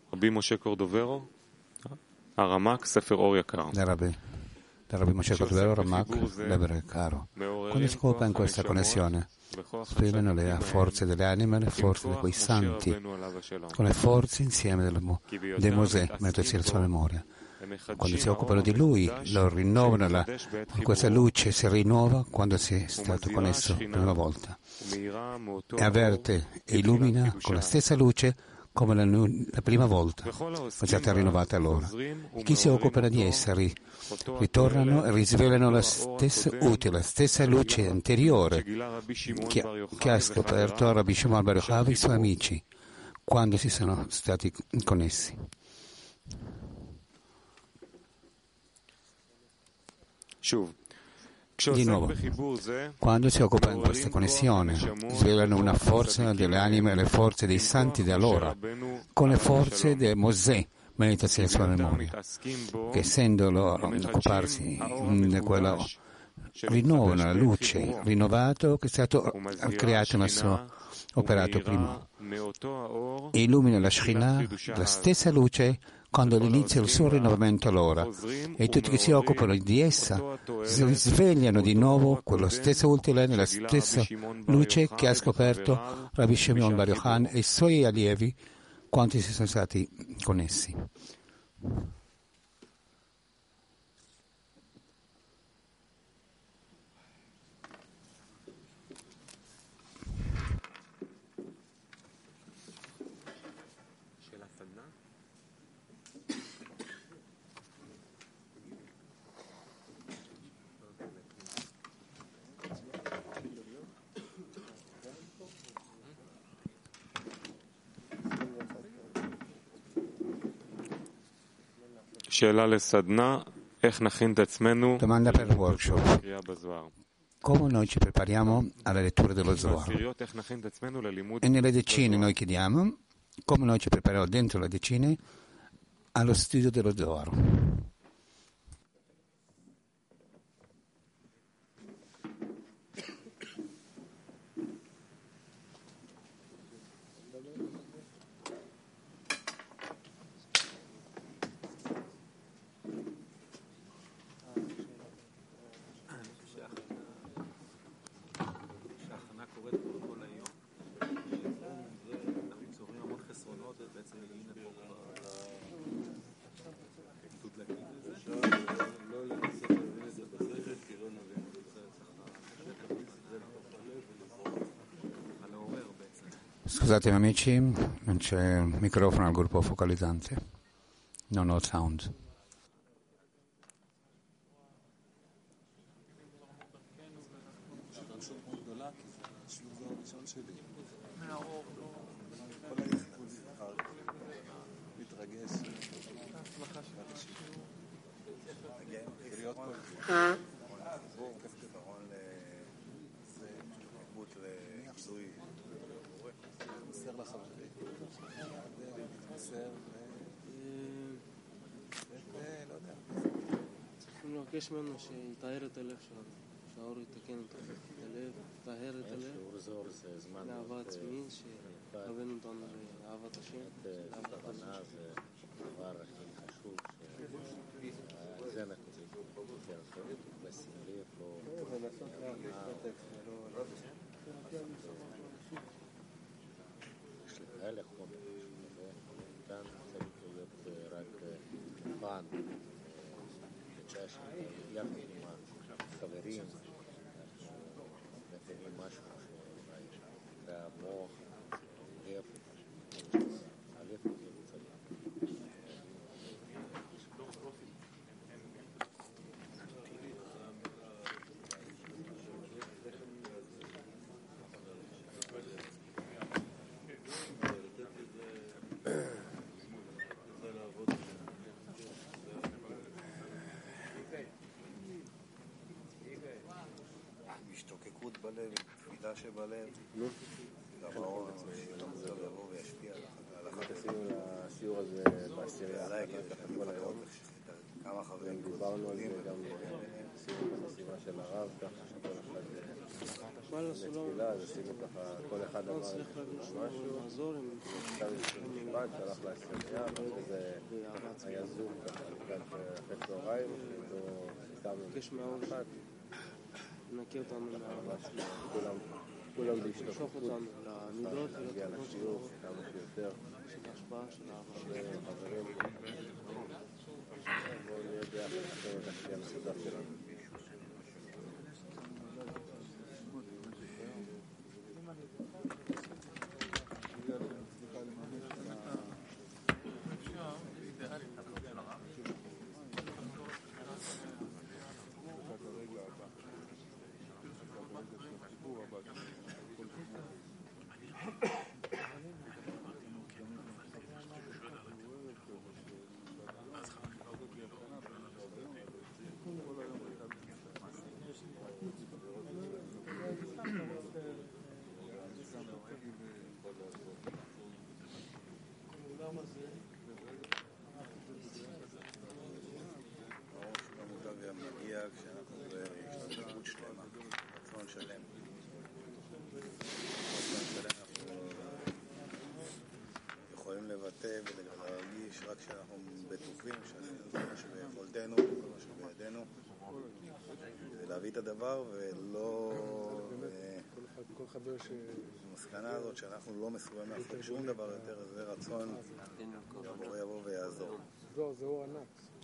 רבי משה קורדוברו, הרמ"ק, ספר אור יקר. Da Rabbi Moshe Cordovero, Ramak, Lebere Caro. Quando si occupa in questa connessione, esprimono le forze delle anime, le forze di quei santi, con le forze insieme di Mosè, mettersi la sua memoria. Quando si occupano di lui, lo rinnovano, questa luce si rinnova quando si è stato connesso la prima volta. E avverte e illumina con la stessa luce come la prima volta, è stata rinnovata allora. E chi si occupa di esseri ritornano e risvelano la stessa utile, la stessa luce anteriore che ha scoperto Rabbi Shimon Bar Yochai e i suoi amici quando si sono stati connessi. Di nuovo, quando si occupa in questa connessione, svelano una forza delle anime e le forze dei santi di allora, con le forze di Mosè, meditazione sulla memoria, che essendo loro occuparsi di quello, rinnovano la luce rinnovato che è stato creato nel suo operato primo, e illumina la Shekhinah, la stessa luce, quando all'inizio il suo rinnovamento allora, e tutti che si occupano di essa si risvegliano di nuovo quello stesso utile nella stessa luce che ha scoperto Rabbi Shimon Bar Yochai e i suoi allievi quanti si sono stati connessi. Domanda per il workshop. Come noi ci prepariamo alla lettura dello Zohar? E nelle decine noi chiediamo come noi ci prepariamo dentro le decine allo studio dello Zohar. Scusatemi amici, non c'è microfono al gruppo focalizzante, non ho sound. לבקש ממנו שיטהר את הלב שלנו, שהאור יתקן את הלב, יטהר את הלב, לאהבה עצמית, שיכוון אותנו לאהבת השם, לאהבת הכוונה זה הדבר הכי חשוב, זה אנחנו לשים לב, ולעשות יש לך חומר, כאן צריך להיות רק פן, יחד עם החברים, מבינים משהו שאולי זה המוח, הלב, הלב צריך. השתוקקות בלב, תפילה שבלב, גם האור שלא יבוא וישפיע על החברים. עשינו לשיעור הזה בעשירייה, עליי, כל היום, כמה חברים. דיברנו על זה גם בסיום המשימה של הרב, ככה שכל אחד לתפילה, אז עשינו ככה, כל אחד אמר משהו, עכשיו יש משפט, שהלך לעשייה, ואחרי זה היה זום ככה לקראת אחרי צהריים, סיכמנו אחת. נקי אותנו כולם להשתפכות, להגיע לשיעור כמה שיותר, של ההשפעה של העבר. חברים, בואו נהיה ביחד, נקיים את הכלי המסודר שלנו. כשאנחנו בהשתתפות שלמה, רצון שלם. רצון שלם אנחנו יכולים לבטא ולהרגיש רק כשאנחנו בטוחים שעשינו כל מה שביכולתנו, כל מה שבידינו, ולהביא את הדבר ולא... המסקנה הזאת שאנחנו לא מסוגלים לעשות שום דבר יותר, זה רצון יבוא ויעזור. זהו ענק.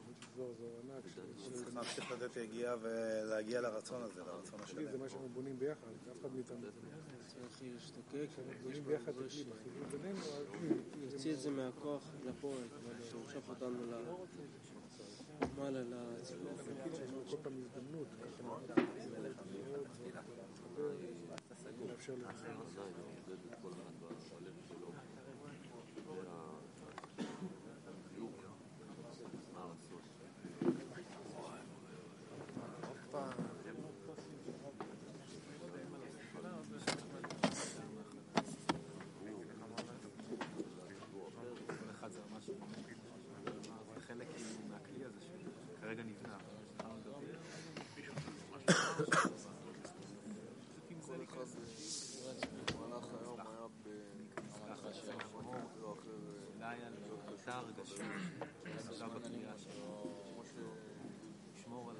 צריך לתת יגיע ולהגיע לרצון הזה, לרצון השלם. זה מה שאנחנו בונים ביחד, אף אחד מאיתנו. צריך להשתוקק, בונים ביחד בחיבור בינינו. יוציא את זה מהכוח לפועל, שימשוך אותנו למעלה לציבור. כל פעם הזדמנות, לאפשר כרגע נבנה. כל אחד במהלך היום היה אולי על אותה הרגשה, מסוגל בקריאה שלו, לשמור על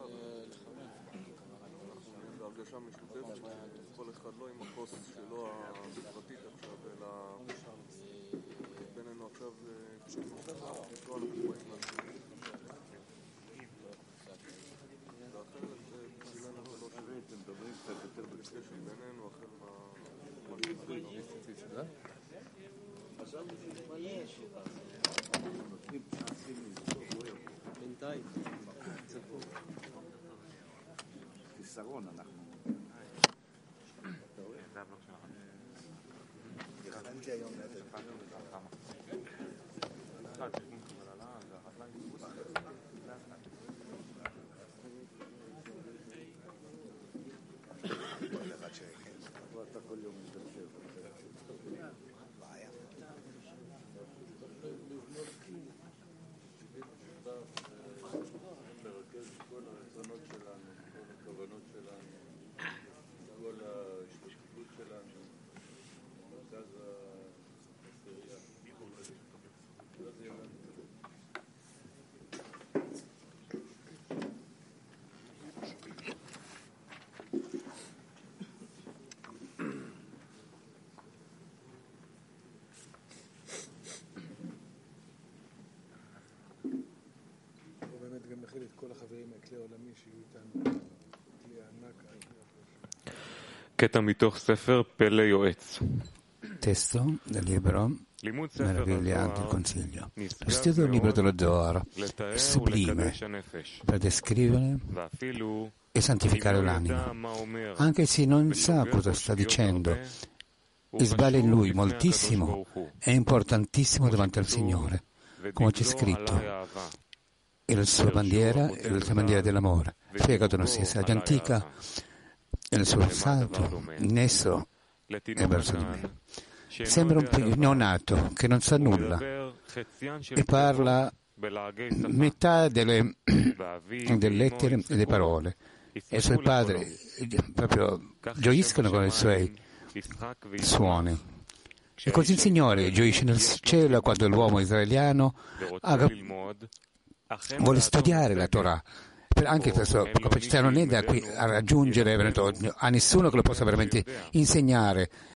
אנחנו בהרגשה משותפת, כל אחד לא עם הכוס שלו הפרטית עכשיו, אלא בינינו עכשיו נקרא אנחנו באים לעשות. ואחרת בשבילנו זה לא שווה, אתם מדברים קצת יותר בקשר בינינו, אחר מה שצריך. עכשיו בינתיים חיסרון אנחנו הכנתי היום אתה כל יום מתקשר בעיה לרכז כל הרצונות שלנו, כל הכוונות שלנו, כל ההשתתפות שלנו במרכז העשירייה. זה יהיה לנו. גם מכיל את כל החברים מהכלי העולמי שיהיו איתנו, כלי הענק. קטע מתוך ספר פלא יועץ. Testo del libro Meravigliante Consiglio. Lo studio del libro dello Zohar è sublime per descrivere e santificare l'anima, anche se non sa cosa sta dicendo e sbaglia in lui moltissimo, è importantissimo davanti al Signore, come c'è scritto. E la sua bandiera è la bandiera dell'amore. Fegato non sia saggia antica e il suo salto in esso è verso di me. Sembra un neonato che non sa nulla e parla metà delle lettere e delle parole e i suoi padri proprio gioiscono con i suoi suoni. E così il Signore gioisce nel cielo quando l'uomo israeliano vuole studiare la Torah. Anche per sua capacità non è da qui a raggiungere a nessuno che lo possa veramente insegnare,